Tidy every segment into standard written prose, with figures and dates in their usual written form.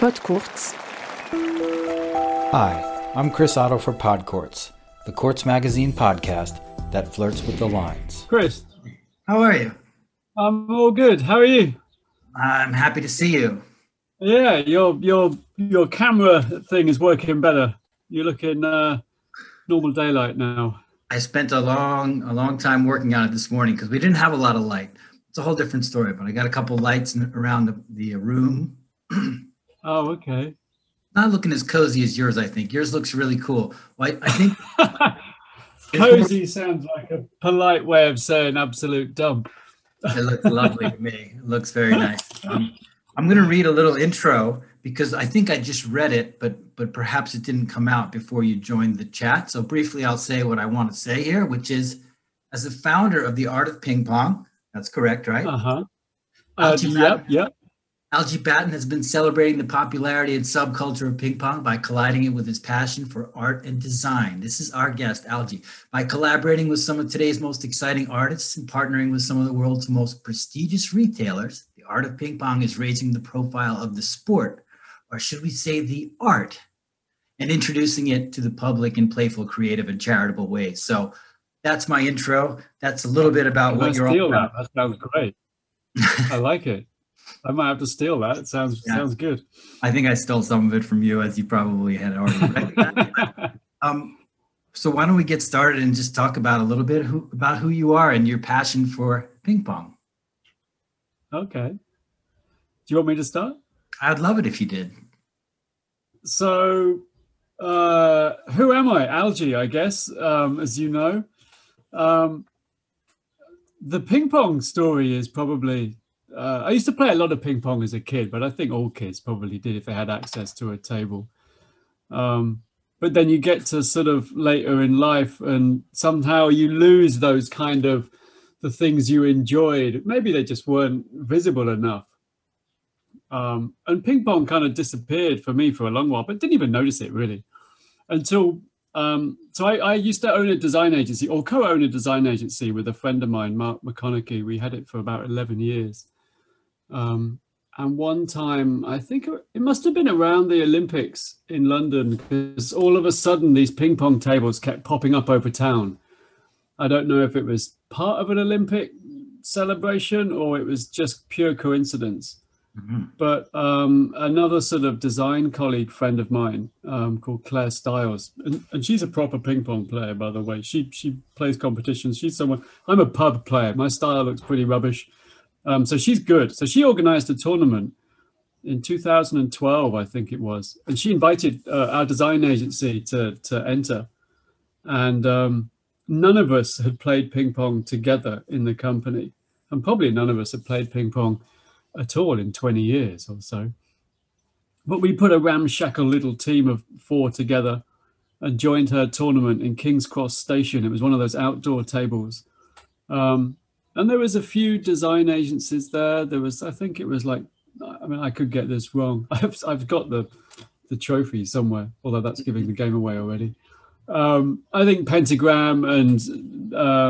Podcourts. Hi, I'm Chris Otto for Podcourts, the Courts Magazine podcast that flirts with the lines. Chris, how are you? I'm all good. How are you? I'm happy to see you. Yeah, your camera thing is working better. You're looking normal daylight now. I spent a long time working on it this morning because we didn't have a lot of light. It's a whole different story, but I got a couple lights around the room. Oh, okay. Not looking as cozy as yours, I think. Yours looks really cool. Well, I think cozy sounds like a polite way of saying absolute dump. It looks lovely to me. It looks very nice. I'm going to read a little intro because I think I just read it, but perhaps it didn't come out before you joined the chat. So briefly, I'll say what I want to say here, which is, as the founder of the Art of Ping Pong, that's correct, right? Yep. Algie Batten has been celebrating the popularity and subculture of ping pong by colliding it with his passion for art and design. This is our guest, Algie. By collaborating with some of today's most exciting artists and partnering with some of the world's most prestigious retailers, the Art of Ping Pong is raising the profile of the sport, or should we say the art, and introducing it to the public in playful, creative, and charitable ways. So that's my intro. That's a little bit about what you're all about. That sounds great. I like it. I might have to steal that. It sounds good. I think I stole some of it from you, as you probably had already recognized. So why don't we get started and just talk about a little bit about who you are and your passion for ping pong. Okay. Do you want me to start? I'd love it if you did. So who am I? Algie, I guess, as you know. The ping pong story is probably... I used to play a lot of ping pong as a kid, but I think all kids probably did if they had access to a table. But then you get to sort of later in life and somehow you lose those kind of the things you enjoyed. Maybe they just weren't visible enough. And ping pong kind of disappeared for me for a long while, but didn't even notice it really until... So I used to own a design agency or co-own a design agency with a friend of mine, Mark McConaughey. We had it for about 11 years. And one time, I think it must have been around the Olympics in London, because all of a sudden these ping pong tables kept popping up over town. I don't know if it was part of an Olympic celebration or it was just pure coincidence. Mm-hmm. But another sort of design colleague friend of mine called Claire Stiles, and she's a proper ping pong player, by the way. She plays competitions. She's someone. I'm a pub player. My style looks pretty rubbish. So she's good. So she organized a tournament in 2012, I think it was, and she invited our design agency to enter. And none of us had played ping pong together in the company, and probably none of us had played ping pong at all in 20 years or so. But we put a ramshackle little team of 4 together and joined her tournament in King's Cross Station. It was one of those outdoor tables. And there was a few design agencies there. There was, I think it was like, I mean, I could get this wrong. I've got the trophy somewhere, although that's giving the game away already. I think Pentagram and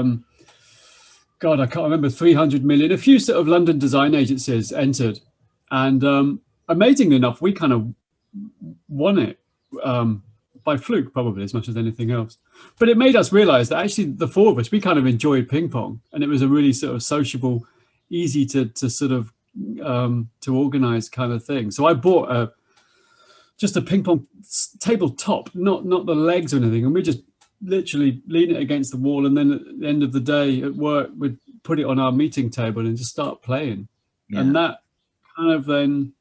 God, I can't remember, 300 million. A few sort of London design agencies entered. And amazingly enough, we kind of won it by fluke, probably, as much as anything else. But it made us realize that actually the 4 of us, we kind of enjoyed ping pong. And it was a really sort of sociable, easy to sort of, to organize kind of thing. So I bought just a ping pong tabletop, not the legs or anything. And we just literally lean it against the wall, and then at the end of the day at work we'd put it on our meeting table and just start playing. And that kind of then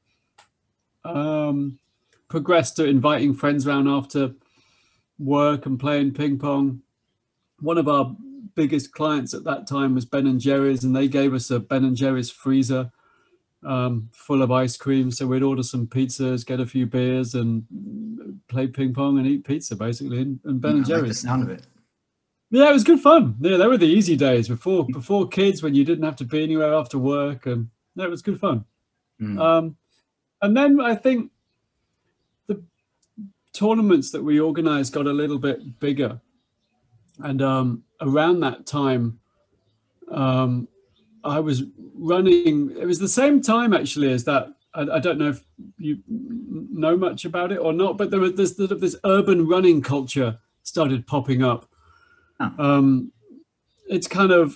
progressed to inviting friends around after work and playing ping pong. One of our biggest clients at that time was Ben & Jerry's, and they gave us a Ben & Jerry's freezer full of ice cream, so we'd order some pizzas, get a few beers, and play ping pong and eat pizza, basically, and Ben & Jerry's. I like the sound of it. Yeah, it was good fun. Yeah, they were the easy days before kids, when you didn't have to be anywhere after work, and it was good fun. And then I think the tournaments that we organized got a little bit bigger, and around that time I was running, it was the same time actually as that I don't know if you know much about it or not, but there's sort of this urban running culture started popping up. Oh. It's kind of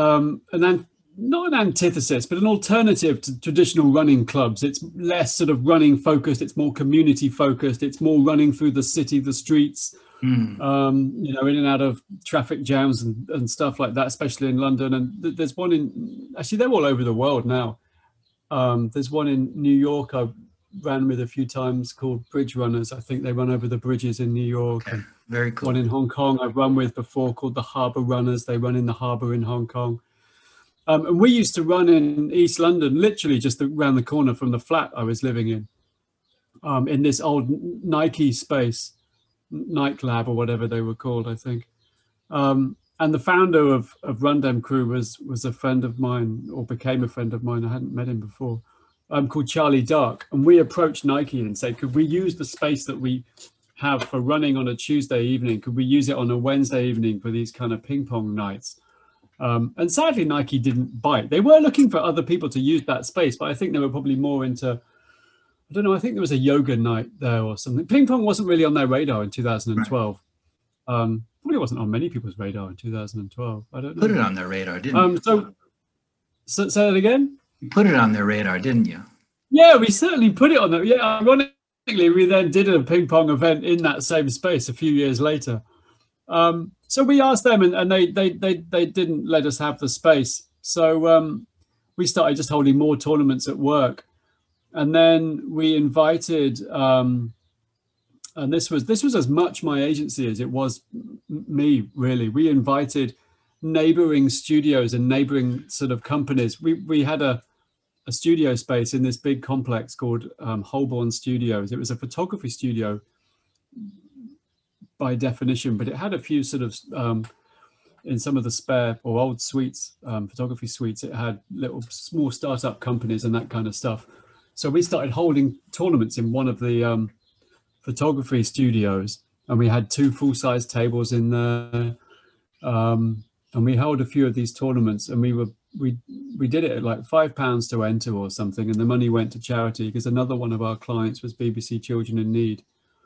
not an antithesis, but an alternative to traditional running clubs. It's less sort of running focused. It's more community focused. It's more running through the city, the streets, in and out of traffic jams and stuff like that, especially in London. And there's one actually, they're all over the world now. There's one in New York I ran with a few times called Bridge Runners. I think they run over the bridges in New York. Okay. Very cool. One in Hong Kong I've run with before called the Harbour Runners. They run in the harbour in Hong Kong. And we used to run in East London, literally just around the corner from the flat I was living in this old Nike space, Nike Lab or whatever they were called, I think. And the founder of Rundem Crew was a friend of mine, or became a friend of mine. I hadn't met him before, called Charlie Dark. And we approached Nike and said, could we use the space that we have for running on a Tuesday evening? Could we use it on a Wednesday evening for these kind of ping pong nights? And sadly, Nike didn't bite. They were looking for other people to use that space, but I think they were probably more into, I don't know, I think there was a yoga night there or something. Ping pong wasn't really on their radar in 2012. Right. Probably wasn't on many people's radar in 2012. I don't know. Put it on their radar, didn't you? So say that again? You put it on their radar, didn't you? Yeah, we certainly put it on there. Yeah, ironically, we then did a ping pong event in that same space a few years later. So we asked them, and they didn't let us have the space. So we started just holding more tournaments at work, and then we invited. And this was as much my agency as it was me, really. We invited neighboring studios and neighboring sort of companies. We had a studio space in this big complex called Holborn Studios. It was a photography studio by definition, but it had a few sort of, in some of the spare or old suites, photography suites, it had little small startup companies and that kind of stuff. So we started holding tournaments in one of the photography studios, and we had 2 full-size tables in there, and we held a few of these tournaments, and we did it at like £5 to enter or something, and the money went to charity because another one of our clients was BBC Children in Need.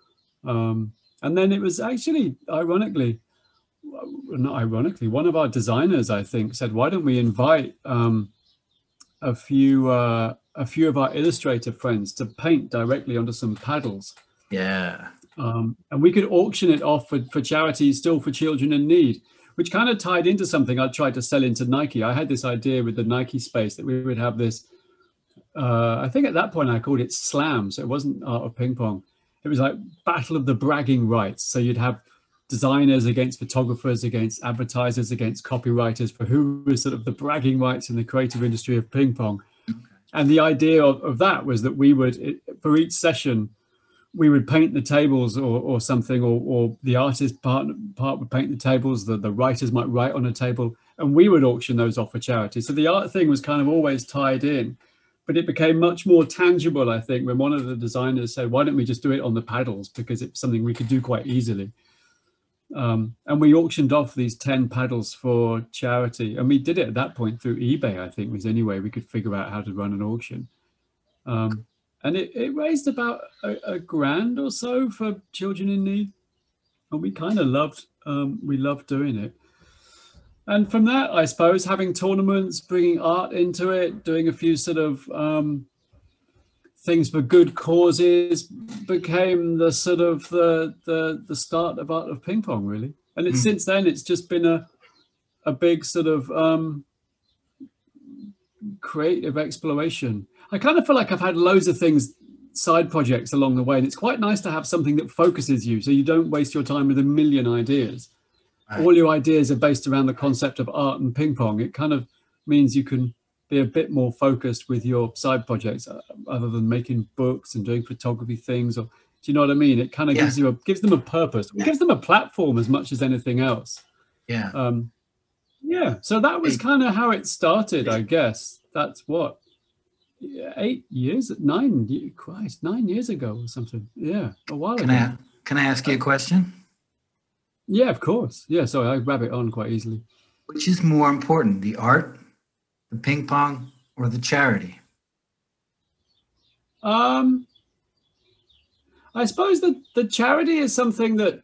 And then it was actually, not ironically, one of our designers, I think, said, why don't we invite a few of our illustrator friends to paint directly onto some paddles. Yeah. And we could auction it off for charities, still for children in need, which kind of tied into something I tried to sell into Nike. I had this idea with the Nike space that we would have this, I think at that point I called it Slam. So it wasn't Art of Ping Pong. It was like battle of the bragging rights. So you'd have designers against photographers, against advertisers, against copywriters for who was sort of the bragging rights in the creative industry of ping pong. Okay. And the idea of that was that we would, for each session, we would paint the tables or something, or the artist part would paint the tables, the writers might write on a table, and we would auction those off for charity. So the art thing was kind of always tied in, but it became much more tangible, I think, when one of the designers said, why don't we just do it on the paddles? Because it's something we could do quite easily. And we auctioned off these 10 paddles for charity. And we did it at that point through eBay, I think, was any way we could figure out how to run an auction. And it raised about a grand or so for children in need. And we kind of loved doing it. And from that, I suppose, having tournaments, bringing art into it, doing a few sort of things for good causes became the sort of the start of Art of Ping Pong, really. And it's since then, it's just been a big sort of creative exploration. I kind of feel like I've had loads of things, side projects along the way, and it's quite nice to have something that focuses you so you don't waste your time with a million ideas. Right. All your ideas are based around the concept of art and ping pong. It kind of means you can be a bit more focused with your side projects other than making books and doing photography things. Or, do you know what I mean? It kind of gives them a purpose. It gives them a platform as much as anything else. Yeah. So that was kind of how it started, I guess. That's what, 9 years ago or something. Yeah, a while ago. Can I ask you a question? Yeah, of course. Yeah, sorry, I rabbit on quite easily. Which is more important, the art, the ping pong, or the charity? Um, I suppose that the charity is something that,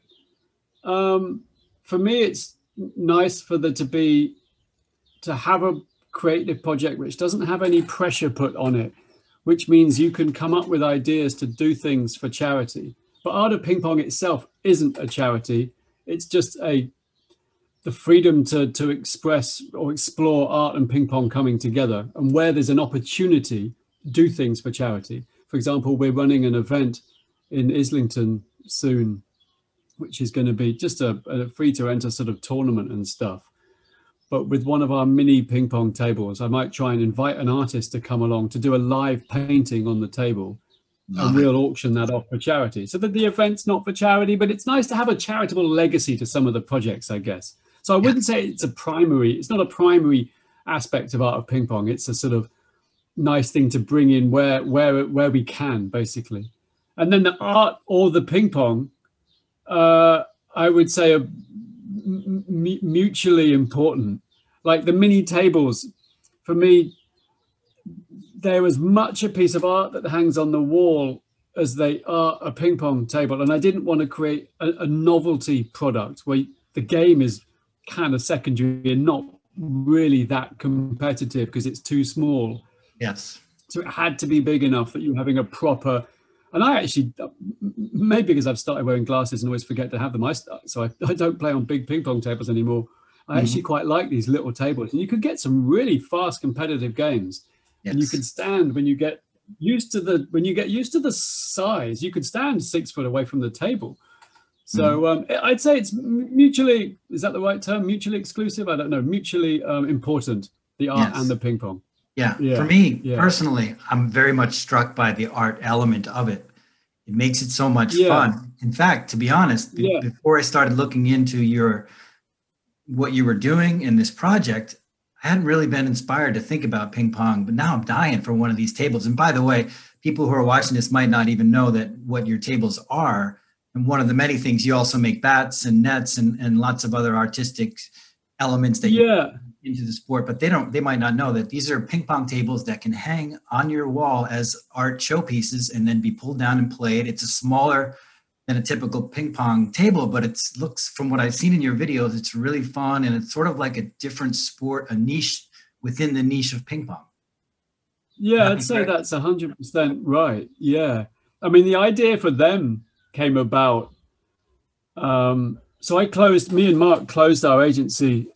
for me, it's nice for there to have a creative project which doesn't have any pressure put on it, which means you can come up with ideas to do things for charity. But Art of Ping Pong itself isn't a charity. It's just the freedom to express or explore art and ping pong coming together, and where there's an opportunity, do things for charity. For example, we're running an event in Islington soon, which is going to be just a free to enter sort of tournament and stuff. But with one of our mini ping pong tables, I might try and invite an artist to come along to do a live painting on the table. And we'll auction that off for charity. So that the event's not for charity, but it's nice to have a charitable legacy to some of the projects, I guess. So I wouldn't say it's not a primary aspect of Art of Ping Pong. It's a sort of nice thing to bring in where we can, basically. And then the art or the ping pong, I would say, are mutually important. Like the mini tables, for me, they're as much a piece of art that hangs on the wall as they are a ping pong table. And I didn't want to create a novelty product where the game is kind of secondary and not really that competitive because it's too small. Yes. So it had to be big enough that you're having a proper, and I actually, maybe because I've started wearing glasses and always forget to have them, so I don't play on big ping pong tables anymore. I actually quite like these little tables, and you could get some really fast competitive games. Yes. And you can stand when you get used to the size, you could stand 6 foot away from the table. So I'd say it's mutually, is that the right term? Mutually exclusive? I don't know. Mutually important, the art and the ping pong. Yeah. For me personally, I'm very much struck by the art element of it. It makes it so much fun. In fact, to be honest, before I started looking into what you were doing in this project, I hadn't really been inspired to think about ping pong, but now I'm dying for one of these tables. And by the way, people who are watching this might not even know what your tables are. And one of the many things, you also make bats and nets and lots of other artistic elements that you put into the sport, but they might not know that these are ping pong tables that can hang on your wall as art showpieces and then be pulled down and played. It's a smaller than a typical ping pong table, but it looks, from what I've seen in your videos, it's really fun. And it's sort of like a different sport, a niche within the niche of ping pong. Yeah, I'd say that's 100% right. Yeah. I mean, the idea for them came about. So me and Mark closed our agency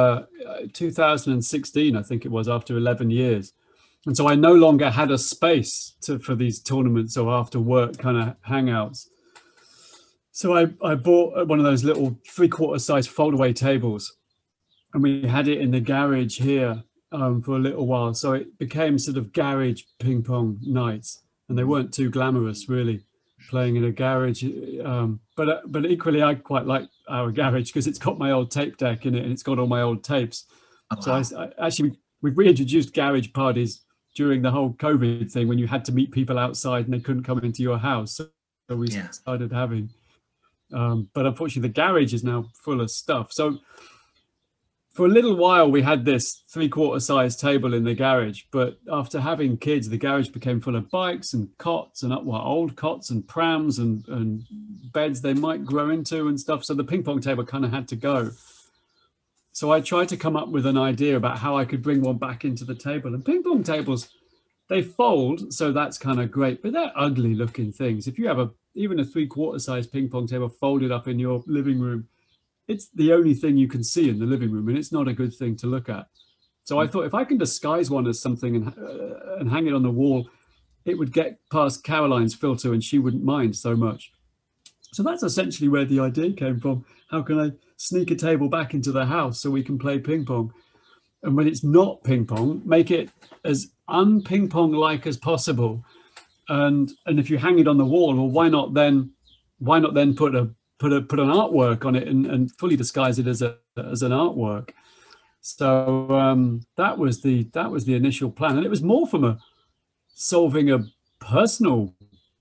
2016, I think it was, after 11 years. And so I no longer had a space for these tournaments or after work kind of hangouts. So I bought one of those little 3/4 size foldaway tables, and we had it in the garage here for a little while. So it became sort of garage ping pong nights, and they weren't too glamorous really, playing in a garage. But equally, I quite like our garage because it's got my old tape deck in it and it's got all my old tapes. Oh, wow. So we've reintroduced garage parties during the whole COVID thing when you had to meet people outside and they couldn't come into your house. So we started having. But unfortunately, the garage is now full of stuff. So for a little while, we had this 3/4 size table in the garage. But after having kids, the garage became full of bikes and cots and old cots and prams and beds they might grow into and stuff. So the ping pong table kind of had to go. So I tried to come up with an idea about how I could bring one back into the table. And ping pong tables, they fold, so that's kind of great. But they're ugly looking things. If you have even a 3/4 size ping pong table folded up in your living room, it's the only thing you can see in the living room, and it's not a good thing to look at. So I thought if I can disguise one as something and hang it on the wall, it would get past Caroline's filter and she wouldn't mind so much. So that's essentially where the idea came from. How can I sneak a table back into the house so we can play ping pong? And when it's not ping pong, make it as un-ping pong like as possible. And if you hang it on the wall, well, why not then put an artwork on it and fully disguise it as an artwork? So that was the initial plan, and it was more from solving a personal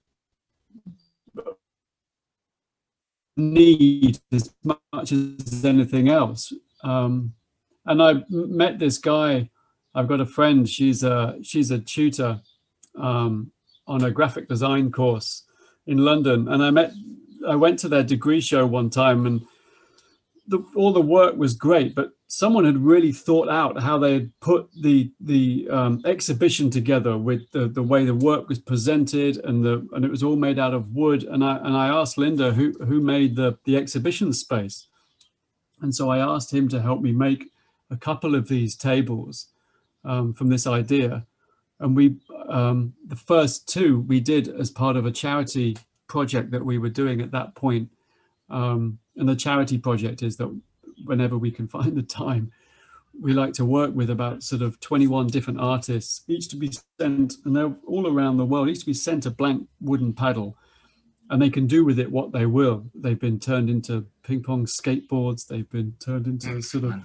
need as much as anything else. And I met this guy. I've got a friend. She's a tutor. on a graphic design course in London, and I went to their degree show one time, and all the work was great, but someone had really thought out how they had put the exhibition together with the way the work was presented, and it was all made out of wood. And I asked Linda who made the exhibition space, and so I asked him to help me make a couple of these tables from this idea. And the first two we did as part of a charity project that we were doing at that point. And the charity project is that whenever we can find the time, we like to work with about sort of 21 different artists, each to be sent, and they're all around the world, each to be sent a blank wooden paddle, and they can do with it what they will. They've been turned into ping pong skateboards. They've been turned into sort of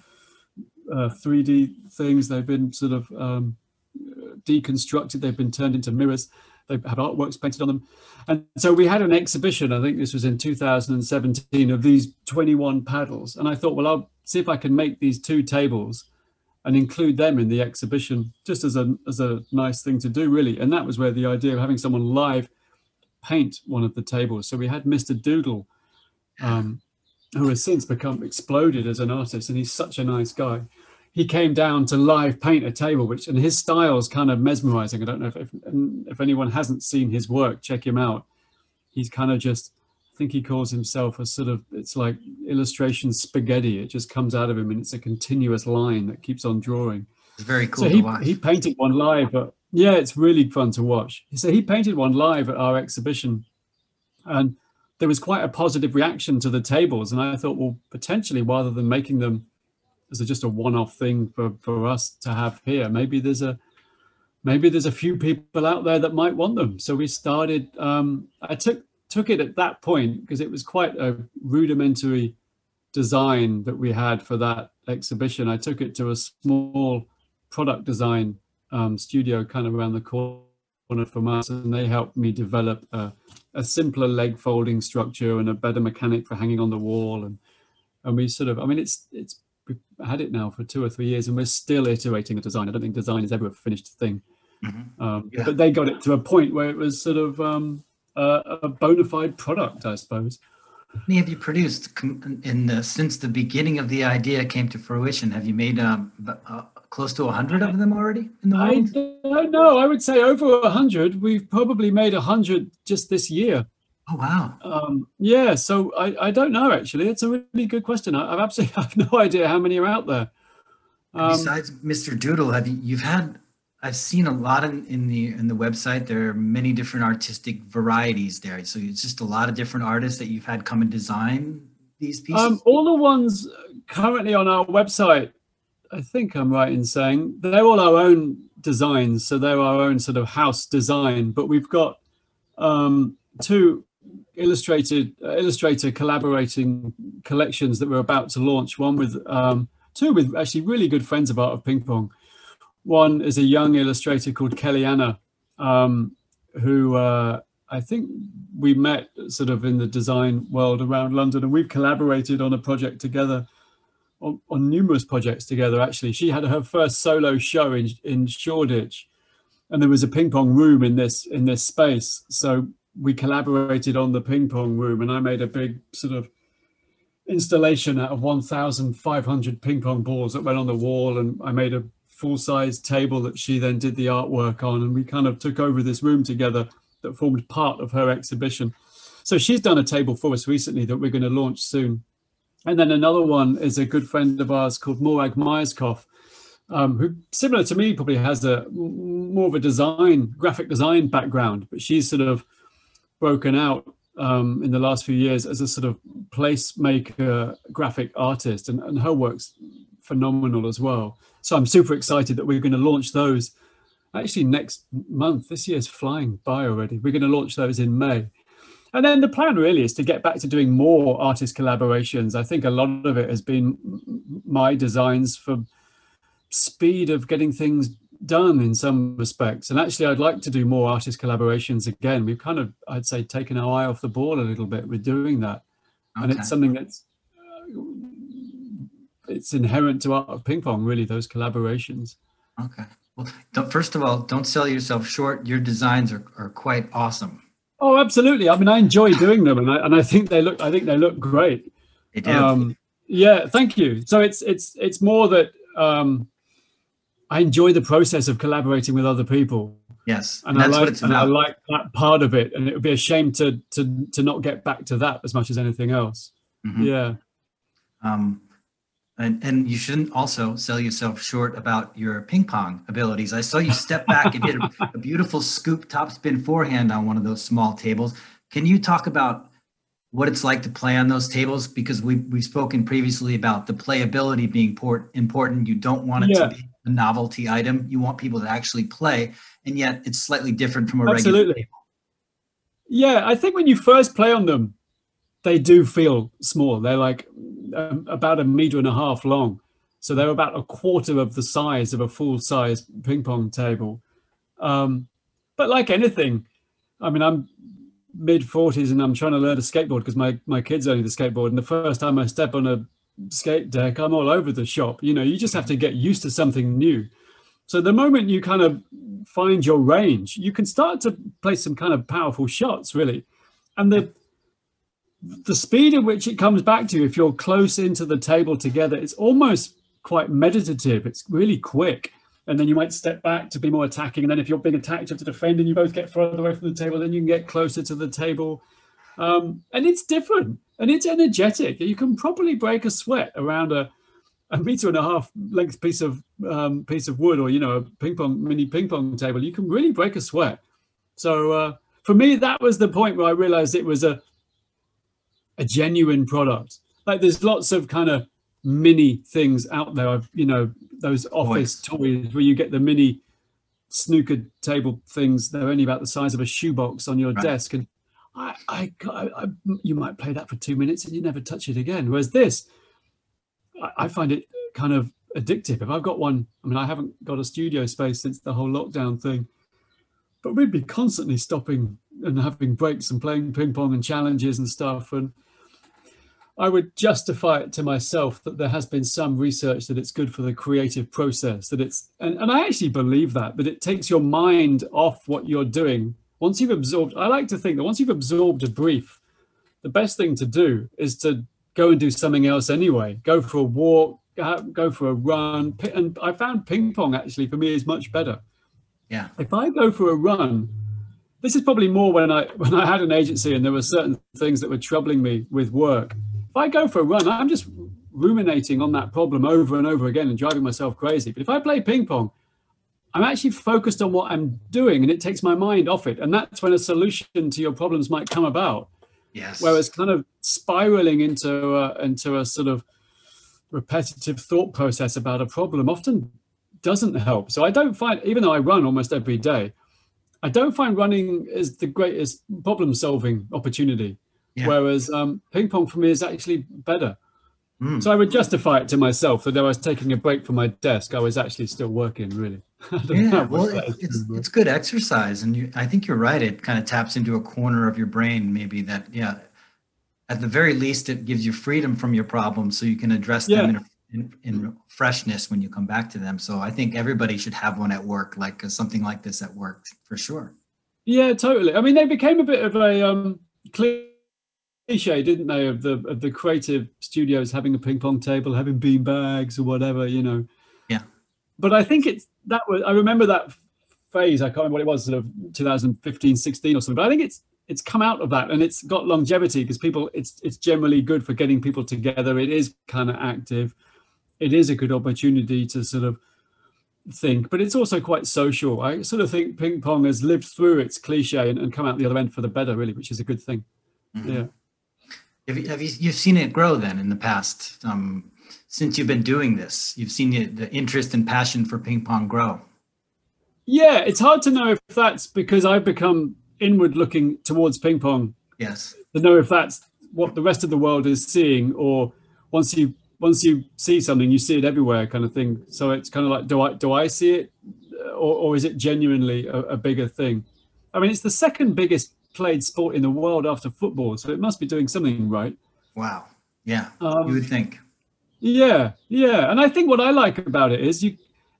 3D things. They've been sort of deconstructed. They've been turned into mirrors. They have artworks painted on them. And so we had an exhibition, I think this was in 2017, of these 21 paddles. And I thought, well, I'll see if I can make these two tables and include them in the exhibition, just as a nice thing to do, really. And that was where the idea of having someone live paint one of the tables. So we had Mr. Doodle, who has since become exploded as an artist, and he's such a nice guy. He came down to live paint a table, and his style is kind of mesmerizing. I don't know if anyone hasn't seen his work, check him out. He's kind of just, I think he calls himself a sort of, it's like illustration spaghetti. It just comes out of him, and it's a continuous line that keeps on drawing. It's very cool to watch. He painted one live, but yeah, it's really fun to watch. So he painted one live at our exhibition, and there was quite a positive reaction to the tables. And I thought, well, potentially, rather than making them as just a one-off thing for us to have here, maybe there's a few people out there that might want them. So we started, I took it at that point because it was quite a rudimentary design that we had for that exhibition. I took it to a small product design studio kind of around the corner from us, and they helped me develop a simpler leg folding structure and a better mechanic for hanging on the wall. And we sort of, I mean, we've had it now for 2 or 3 years, and we're still iterating the design. I don't think design is ever a finished thing. Mm-hmm. But they got it to a point where it was sort of a bona fide product, I suppose. How many have you produced since the beginning of the idea came to fruition? Have you made close to 100 of them already in the world? I don't know. I would say over 100. We've probably made 100 just this year. Oh, wow. Yeah, so I don't know, actually. It's a really good question. I absolutely have no idea how many are out there. Besides Mr. Doodle, I've seen a lot in the website. There are many different artistic varieties there. So it's just a lot of different artists that you've had come and design these pieces? All the ones currently on our website, I think I'm right in saying, they're all our own designs. So they're our own sort of house design. But we've got 2 illustrator collaborating collections that we're about to launch. One with 2 with actually really good friends of Art of Ping Pong. One is a young illustrator called Kellyanna, who I think we met sort of in the design world around London, and we've collaborated on a project together, on numerous projects together. Actually, she had her first solo show in Shoreditch, and there was a ping pong room in this space. So we collaborated on the ping pong room, and I made a big sort of installation out of 1,500 ping pong balls that went on the wall, and I made a full-size table that she then did the artwork on, and we kind of took over this room together that formed part of her exhibition. So she's done a table for us recently that we're going to launch soon. And then another one is a good friend of ours called Morag Myerscough, who, similar to me, probably has more of a graphic design background, but she's sort of broken out in the last few years as a sort of placemaker graphic artist, and her work's phenomenal as well. So I'm super excited that we're going to launch those actually next month. This year's flying by already. We're going to launch those in May. And then the plan really is to get back to doing more artist collaborations. I think a lot of it has been my designs for speed of getting things done in some respects. And actually, I'd like to do more artist collaborations again. We've kind of, I'd say, taken our eye off the ball a little bit with doing that. Okay. And it's something that's it's inherent to Art of Ping Pong, really, those collaborations. Okay. Well, first of all, don't sell yourself short. Your designs are quite awesome. Oh, absolutely. I mean, I enjoy doing them, and I think they look great. They do. Yeah, thank you. So it's more that I enjoy the process of collaborating with other people. Yes, and that's what it's about. I like that part of it, and it would be a shame to not get back to that as much as anything else. Mm-hmm. Yeah. And you shouldn't also sell yourself short about your ping pong abilities. I saw you step back and did a beautiful scoop topspin forehand on one of those small tables. Can you talk about what it's like to play on those tables? Because we've spoken previously about the playability being important. You don't want it to be a novelty item. You want people to actually play, and yet it's slightly different from a regular table. Yeah, I think when you first play on them, they do feel small. They're like about 1.5 meters long. So they're about a quarter of the size of a full-size ping pong table. But like anything, I mean, I'm mid-40s and I'm trying to learn to skateboard because my kids only the skateboard. And the first time I step on a skate deck, I'm all over the shop. You know, you just have to get used to something new. So the moment you kind of find your range, you can start to play some kind of powerful shots, really. And the speed at which it comes back to you, if you're close into the table together, it's almost quite meditative. It's really quick. And then you might step back to be more attacking. And then if you're being attacked, you have to defend, and you both get further away from the table, then you can get closer to the table. And it's different and it's energetic. You can probably break a sweat around a 1.5 meter length piece of wood, or, you know, a mini ping pong table. You can really break a sweat. So for me, that was the point where I realized it was a genuine product. Like, there's lots of kind of mini things out there. Those office toys where you get the mini snooker table things. They're only about the size of a shoebox on your desk, and you might play that for 2 minutes and you never touch it again. Whereas this, I find it kind of addictive. If I've got one, I mean, I haven't got a studio space since the whole lockdown thing, but we'd be constantly stopping and having breaks and playing ping pong and challenges and stuff. And I would justify it to myself that there has been some research that it's good for the creative process, that it's, and I actually believe that it takes your mind off what you're doing. Once you've absorbed, I like to think that once you've absorbed a brief, the best thing to do is to go and do something else anyway. Go for a walk, go for a run. And I found ping pong actually for me is much better. Yeah. If I go for a run, this is probably more when I had an agency and there were certain things that were troubling me with work. If I go for a run, I'm just ruminating on that problem over and over again and driving myself crazy. But if I play ping pong, I'm actually focused on what I'm doing and it takes my mind off it. And that's when a solution to your problems might come about. Yes. Whereas kind of spiraling into a sort of repetitive thought process about a problem often doesn't help. So I don't find, even though I run almost every day, I don't find running is the greatest problem-solving opportunity. Yeah. Whereas ping pong for me is actually better. So I would justify it to myself that though I was taking a break from my desk, I was actually still working, really. Yeah, well, it's good exercise. And I think you're right. It kind of taps into a corner of your brain, maybe that, yeah, at the very least, it gives you freedom from your problems so you can address them in freshness when you come back to them. So I think everybody should have one at work, like something like this at work, for sure. Yeah, totally. I mean, they became a bit of a cliche, didn't they, of the creative studios having a ping pong table, having bean bags or whatever, you know. Yeah. But I think I remember that phase. I can't remember what it was, sort of 2015, 16 or something. But I think it's come out of that and it's got longevity because it's generally good for getting people together. It is kind of active. It is a good opportunity to sort of think, but it's also quite social. I sort of think ping pong has lived through its cliche and come out the other end for the better, really, which is a good thing. Mm-hmm. Yeah. You've seen it grow then in the past, since you've been doing this? You've seen the interest and passion for ping pong grow. Yeah, it's hard to know if that's because I've become inward looking towards ping pong. Yes. To know if that's what the rest of the world is seeing, or once you see something, you see it everywhere, kind of thing. So it's kind of like, do I see it, or is it genuinely a bigger thing? I mean, it's the second biggest played sport in the world after football, so it must be doing something right. Wow. Yeah, you would think. Yeah, and I think what I like about it is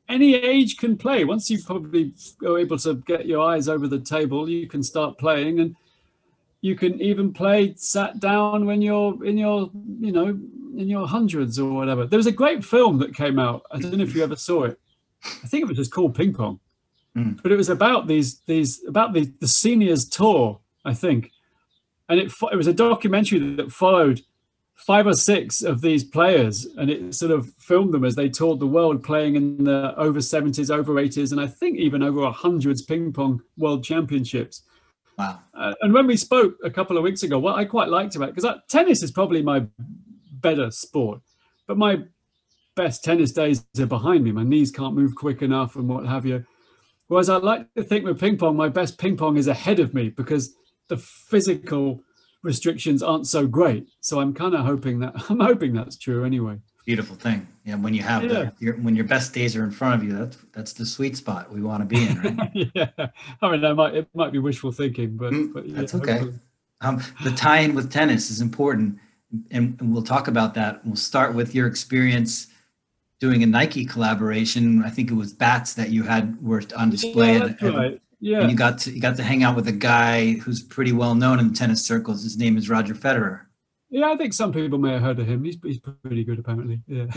any age can play. Once you probably are able to get your eyes over the table, you can start playing, and you can even play sat down when you're in your, in your hundreds or whatever. There was a great film that came out. I don't know if you ever saw it. I think it was just called Ping Pong, but it was about the seniors tour, I think, and it was a documentary that followed 5 or 6 of these players, and it sort of filmed them as they toured the world playing in the over 70s, over 80s, and I think even over 100s ping pong world championships. Wow. And when we spoke a couple of weeks ago, what I quite liked about it, because tennis is probably my better sport, but my best tennis days are behind me. My knees can't move quick enough and what have you. Whereas I like to think with ping pong, my best ping pong is ahead of me because the physical restrictions aren't so great. So I'm kind of hoping that's true anyway. Beautiful thing. Yeah, when you have when your best days are in front of you, that's the sweet spot we want to be in, right? Yeah, I mean, it might be wishful thinking, but that's okay. The tie-in with tennis is important, and we'll talk about that. We'll start with your experience doing a Nike collaboration. I think it was bats that you were on display. Yeah, that's right. Yeah, and you got to hang out with a guy who's pretty well known in the tennis circles. His name is Roger Federer. Yeah, I think some people may have heard of him. He's pretty good, apparently. Yeah.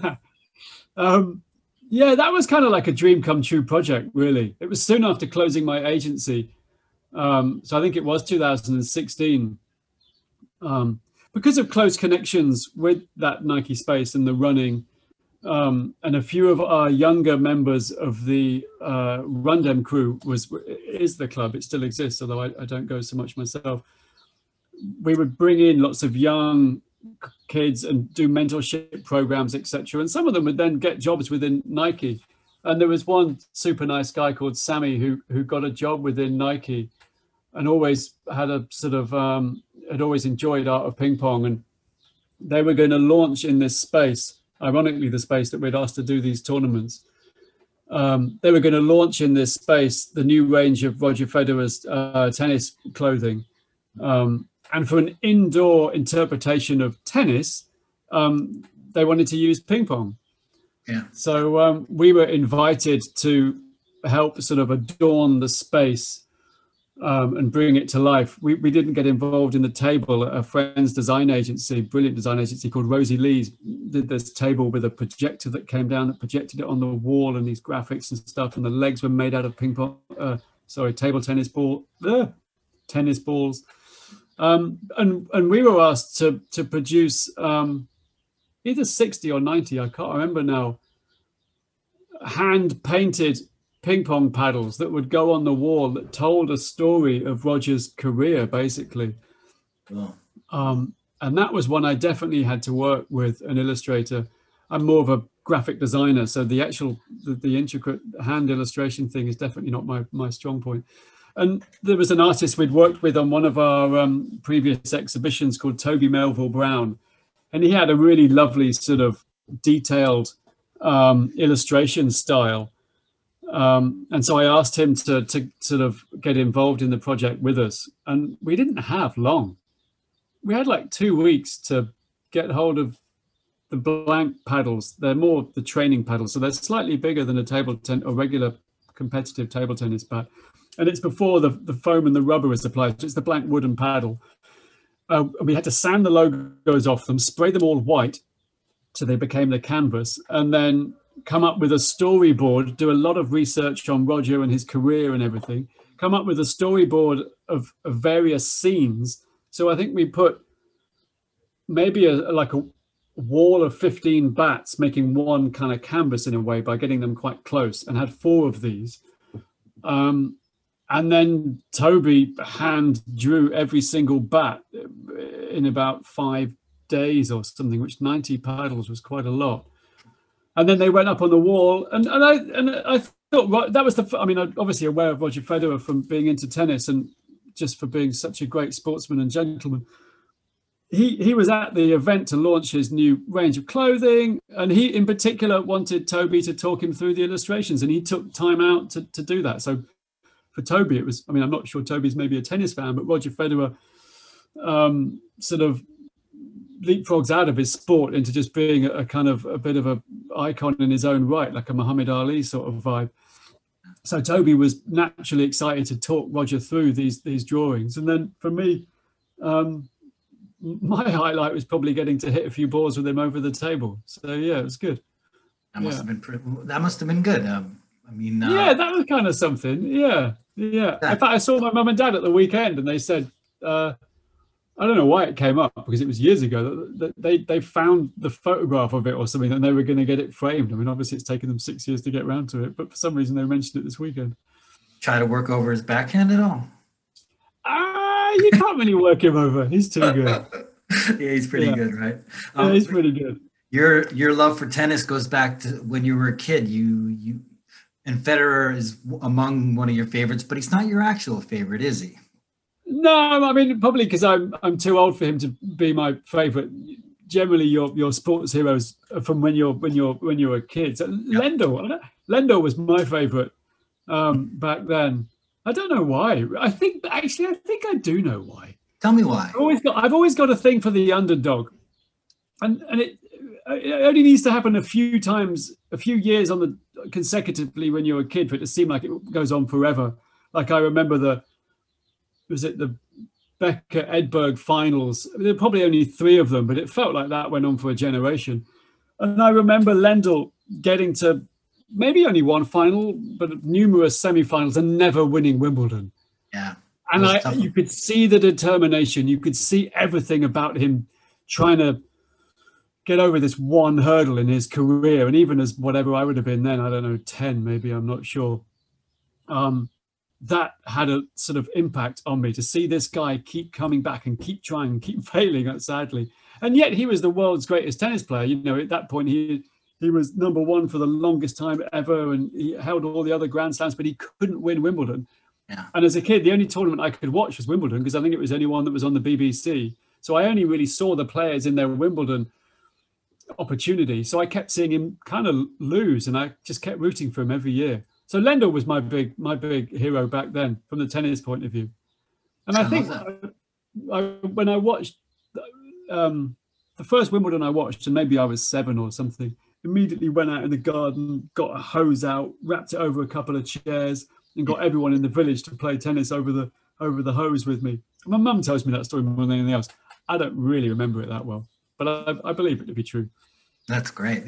Yeah, that was kind of like a dream come true project, really. It was soon after closing my agency. So I think it was 2016. Because of close connections with that Nike space and the running, and a few of our younger members of the Rundem crew is the club. It still exists, although I don't go so much myself. We would bring in lots of young kids and do mentorship programs, etc. And some of them would then get jobs within Nike. And there was one super nice guy called Sammy who got a job within Nike and always had a sort of, had always enjoyed art of ping pong. And they were going to launch in this space, ironically, the space that we'd asked to do these tournaments. They were going to launch in this space the new range of Roger Federer's tennis clothing. And for an indoor interpretation of tennis, they wanted to use ping pong. Yeah. So we were invited to help sort of adorn the space and bring it to life. We didn't get involved in the table. A friend's design agency, brilliant design agency called Rosie Lee's, did this table with a projector that came down that projected it on the wall and these graphics and stuff. And the legs were made out of table tennis tennis balls. And we were asked to produce either 60 or 90, I can't remember now, hand-painted ping pong paddles that would go on the wall that told a story of Roger's career, basically. Oh. And that was one I definitely had to work with an illustrator. I'm more of a graphic designer, so the actual, the intricate hand illustration thing is definitely not my strong point. And there was an artist we'd worked with on one of our previous exhibitions called Toby Melville Brown. And he had a really lovely sort of detailed illustration style. And so I asked him to sort of get involved in the project with us. And we didn't have long. We had like 2 weeks to get hold of the blank paddles. They're more the training paddles. So they're slightly bigger than a regular competitive table tennis bat. And it's before the foam and the rubber is applied. So it's the blank wooden paddle. We had to sand the logos off them, spray them all white so they became the canvas, and then come up with a storyboard, do a lot of research on Roger and his career and everything, come up with a storyboard of various scenes. So I think we put maybe like a wall of 15 bats making one kind of canvas in a way by getting them quite close, and had 4 of these. And then Toby hand drew every single bat in about 5 days or something, which 90 paddles was quite a lot. And then they went up on the wall, and I thought that was I'm obviously aware of Roger Federer from being into tennis and just for being such a great sportsman and gentleman. He was at the event to launch his new range of clothing, and he in particular wanted Toby to talk him through the illustrations, and he took time out to do that. So for Toby, it was, I'm not sure Toby's maybe a tennis fan, but Roger Federer sort of leapfrogs out of his sport into just being a kind of a bit of a icon in his own right, like a Muhammad Ali sort of vibe. So Toby was naturally excited to talk Roger through these drawings. And then for me, my highlight was probably getting to hit a few balls with him over the table. So yeah, it was good. That must have been good. Yeah, that was kind of something. Yeah. In fact, I saw my mum and dad at the weekend, and they said, I don't know why it came up, because it was years ago that they found the photograph of it or something, and they were going to get it framed. I mean, obviously it's taken them 6 years to get around to it, but for some reason they mentioned it this weekend. Try to work over his backhand at all? You can't really work him over. He's too good. Yeah, he's pretty good, right? Yeah, he's pretty good. Your love for tennis goes back to when you were a kid. And Federer is among one of your favorites, but he's not your actual favorite, is he? No, I mean, probably because I'm too old for him to be my favorite. Generally, your sports heroes are from when you're a kid. So yep. Lendl was my favorite back then. I don't know why. I think I do know why. Tell me why. I've always got a thing for the underdog, and it only needs to happen a few years consecutively when you're a kid for it to seem like it goes on forever. Like I remember the Becker Edberg finals. There were probably only 3 of them, but it felt like that went on for a generation. And I remember Lendl getting to maybe only one final, but numerous semi-finals and never winning Wimbledon. Yeah. And you could see the determination. You could see everything about him trying to get over this one hurdle in his career. And even as whatever I would have been then, I don't know, 10 maybe, I'm not sure. That had a sort of impact on me, to see this guy keep coming back and keep trying, keep failing, sadly. And yet he was the world's greatest tennis player. You know, at that point, he was number 1 for the longest time ever, and he held all the other Grand Slams, but he couldn't win Wimbledon. Yeah. And as a kid, the only tournament I could watch was Wimbledon, because I think it was the only one that was on the BBC. So I only really saw the players in their Wimbledon opportunity. So I kept seeing him kind of lose, and I just kept rooting for him every year. So Lendl was my big hero back then, from the tennis point of view. And I think when I watched the first Wimbledon I watched, and maybe I was 7 or something, immediately went out in the garden, got a hose out, wrapped it over a couple of chairs, and got everyone in the village to play tennis over the hose with me. My mum tells me that story more than anything else. I don't really remember it that well, but I believe it to be true. That's great.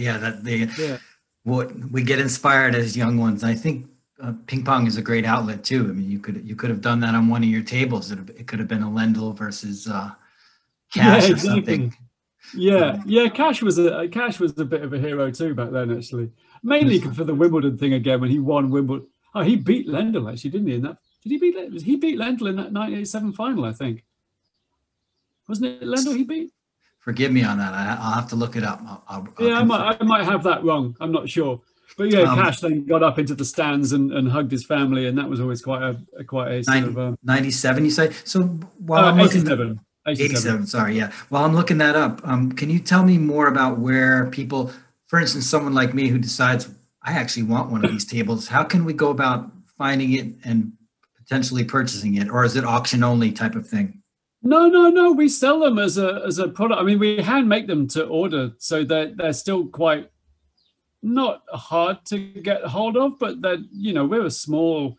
What we get inspired as young ones. I think ping pong is a great outlet too. I mean, you could have done that on one of your tables. It could have been a Lendl versus Cash or something. Yeah. Cash was a bit of a hero too back then, actually. Mainly for the Wimbledon thing again, when he won Wimbledon. Oh, he beat Lendl actually, didn't he? He beat Lendl in that 1987 final, I think. Wasn't it Lendl he beat? Forgive me on that. I'll have to look it up. I might have that wrong. I'm not sure. But yeah, Cash then got up into the stands and hugged his family, and that was always quite a sort of 97. You say so? While I'm looking 87. Sorry, yeah. While I'm looking that up, can you tell me more about where people, for instance, someone like me who decides I actually want one of these tables, how can we go about finding it and potentially purchasing it, or is it auction only type of thing? No. We sell them as a product. I mean, we hand make them to order, so they're still quite not hard to get hold of, but we're a small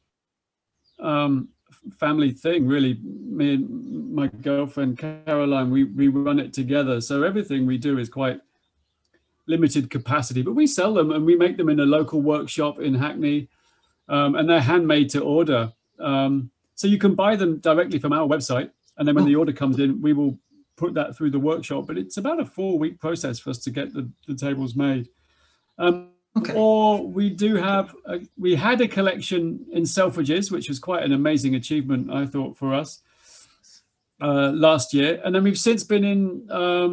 family thing, really. Me and my girlfriend Caroline, we run it together, so everything we do is quite limited capacity. But we sell them, and we make them in a local workshop in Hackney, and they're handmade to order. So you can buy them directly from our website. And then when the order comes in, we will put that through the workshop. But it's about a 4-week process for us to get the tables made. Or we had a collection in Selfridges, which was quite an amazing achievement, I thought, for us last year. And then we've since been in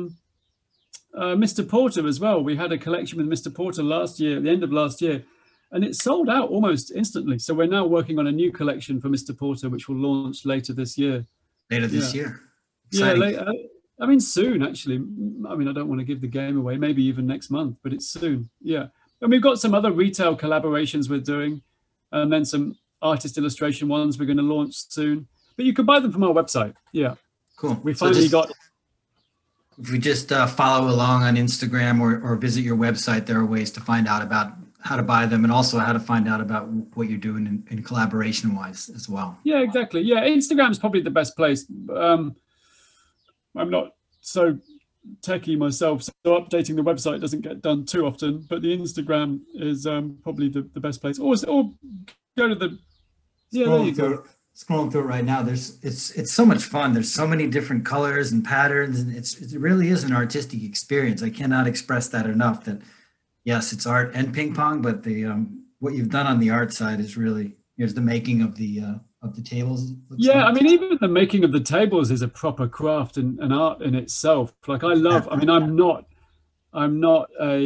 Mr. Porter as well. We had a collection with Mr. Porter last year, at the end of last year, and it sold out almost instantly. So we're now working on a new collection for Mr. Porter, which will launch later this year. Later this year. Exciting. I mean, soon, actually. I mean, I don't want to give the game away, maybe even next month, but it's soon. Yeah. And we've got some other retail collaborations we're doing, and then some artist illustration ones we're going to launch soon. But you can buy them from our website. Yeah. Cool. We finally got If we just follow along on Instagram or visit your website, there are ways to find out about how to buy them and also how to find out about what you're doing in collaboration wise as well. Yeah, exactly. Yeah, Instagram is probably the best place. I'm not so techie myself, so updating the website doesn't get done too often, but the Instagram is probably the best place. Or go to the, yeah, there you go. Scrolling through it right now, it's so much fun. There's so many different colors and patterns, and it really is an artistic experience. I cannot express that enough. That yes, it's art and ping pong, but the what you've done on the art side is really, here's the making of the tables. Yeah, I mean, even the making of the tables is a proper craft and an art in itself. Like I love. I mean, I'm not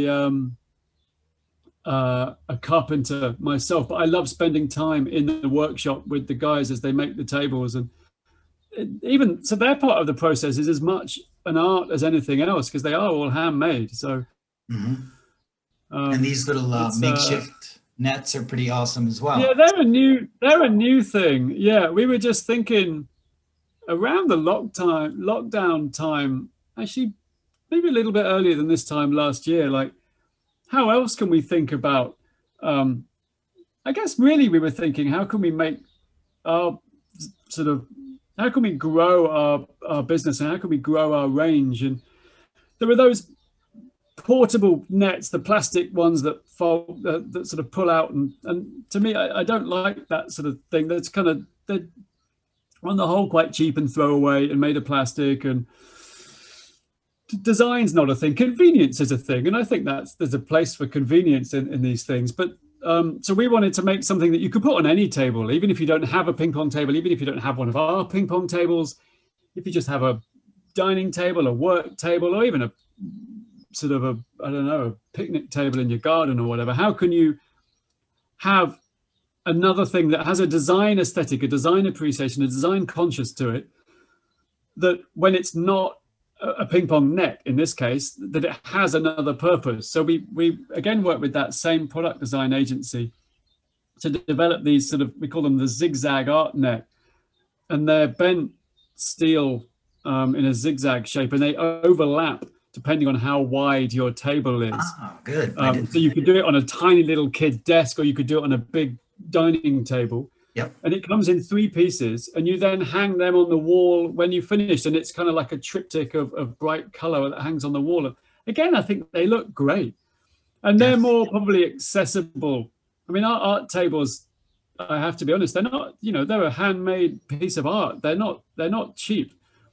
a carpenter myself, but I love spending time in the workshop with the guys as they make the tables, and even so their part of the process is as much an art as anything else because they are all handmade. So and these little makeshift nets are pretty awesome as well. Yeah, they're a new thing. Yeah, we were just thinking around the lockdown time, actually maybe a little bit earlier than this time last year, like how else can we think about, I guess really we were thinking, how can we make our how can we grow our business and how can we grow our range? And there were those portable nets, the plastic ones that fold, that sort of pull out. And to me, I don't like that sort of thing. That's kind of, they're on the whole quite cheap and throwaway and made of plastic, and design's not a thing. Convenience is a thing. And I think there's a place for convenience in these things. But so we wanted to make something that you could put on any table, even if you don't have a ping pong table, even if you don't have one of our ping pong tables, if you just have a dining table, a work table, or even a sort of a picnic table in your garden or whatever. How can you have another thing that has a design aesthetic, a design appreciation, a design conscious to it, that when it's not a ping pong net in this case, that it has another purpose? So we again work with that same product design agency to develop these sort of, we call them the zigzag art net, and they're bent steel in a zigzag shape, and they overlap depending on how wide your table is. Oh, good. So you could do it on a tiny little kid desk, or you could do it on a big dining table. Yep. And it comes in 3 pieces, and you then hang them on the wall when you finish, and it's kind of like a triptych of bright color that hangs on the wall. And again, I think they look great, and they're more probably accessible. I mean, our art tables, I have to be honest, they're not, they're a handmade piece of art. They're not cheap.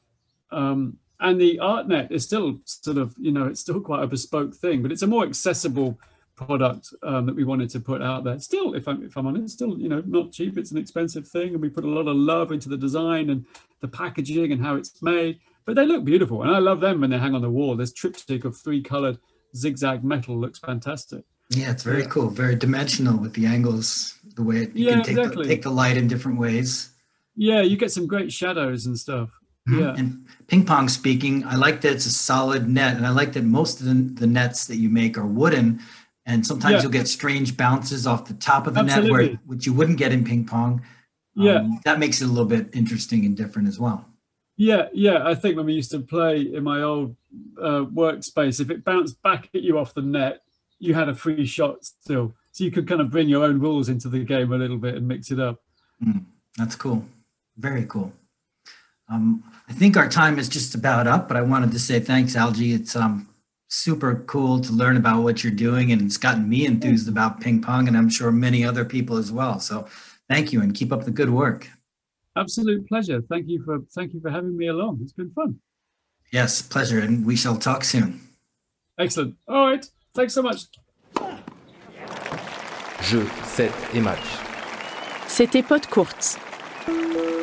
And the art net is still sort of, it's still quite a bespoke thing, but it's a more accessible product that we wanted to put out there. Still, if I'm honest, still, not cheap. It's an expensive thing, and we put a lot of love into the design and the packaging and how it's made, but they look beautiful. And I love them when they hang on the wall. This triptych of 3 colored zigzag metal looks fantastic. Yeah, it's very cool. Very dimensional with the angles, the way you can take the light in different ways. Yeah, you get some great shadows and stuff. Yeah. And ping pong speaking, I like that it's a solid net, and I like that most of the nets that you make are wooden, and sometimes you'll get strange bounces off the top of the net, which you wouldn't get in ping pong. That makes it a little bit interesting and different as well. Yeah. I think when we used to play in my old workspace, if it bounced back at you off the net, you had a free shot still. So you could kind of bring your own rules into the game a little bit and mix it up. That's cool. Very cool. I think our time is just about up, but I wanted to say thanks, Algie. It's super cool to learn about what you're doing, and it's gotten me enthused about ping pong, and I'm sure many other people as well. So thank you, and keep up the good work. Absolute pleasure. Thank you for having me along. It's been fun. Yes, pleasure, and we shall talk soon. Excellent. All right. Thanks so much. Jeux, 7 et match. C'était Podcourts.